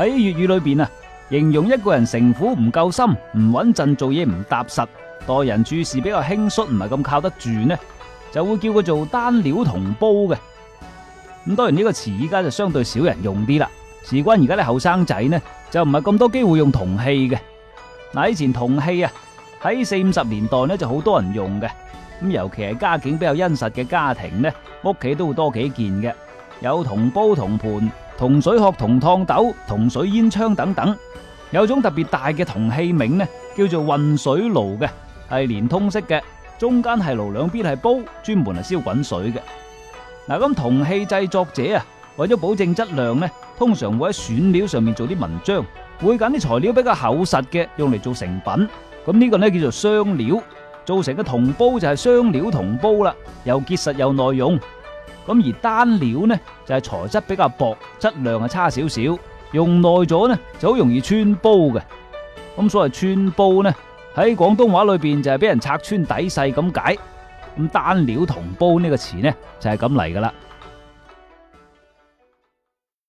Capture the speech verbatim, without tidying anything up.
喺粵語裏邊啊，形容一個人城府唔夠深、唔穩陣，做嘢唔踏實，待人處事比較輕率，唔係咁靠得住呢，就會叫佢做單料銅煲嘅。咁當然呢個詞依家就相對少人用啲啦，事關而家啲後生仔呢就唔係咁多機會用銅器嘅。嗱，以前銅器啊喺四五十年代呢就好多人用嘅，咁尤其係家境比較殷實嘅家庭呢，屋企都會多幾件嘅，有銅煲、銅盤、銅水殼、銅燙斗、銅水煙槍等等。有種特別大嘅銅器皿呢，叫做混水爐嘅，係連通式嘅，中間係爐，兩邊係煲，專門係燒滾水嘅。嗱，咁銅器製作者啊，為咗保證質量呢，通常會喺選料上面做啲文章，會揀啲材料比較厚實嘅，用嚟做成品。咁呢個呢叫做雙料，做成嘅銅煲就係雙料銅煲啦，又結實又耐用。咁而單料呢就係材質比較薄，質量係差少少，用耐咗呢就好容易穿煲嘅。咁所謂穿煲呢，喺廣東話裏邊就係俾人拆穿底細咁解。咁單料銅煲呢個詞呢就係咁嚟噶啦。